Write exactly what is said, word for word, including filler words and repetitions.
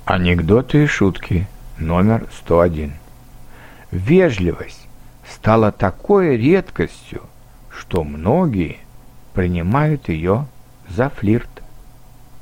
Анекдоты и шутки номер сто один. Вежливость стала такой редкостью, что многие принимают ее за флирт.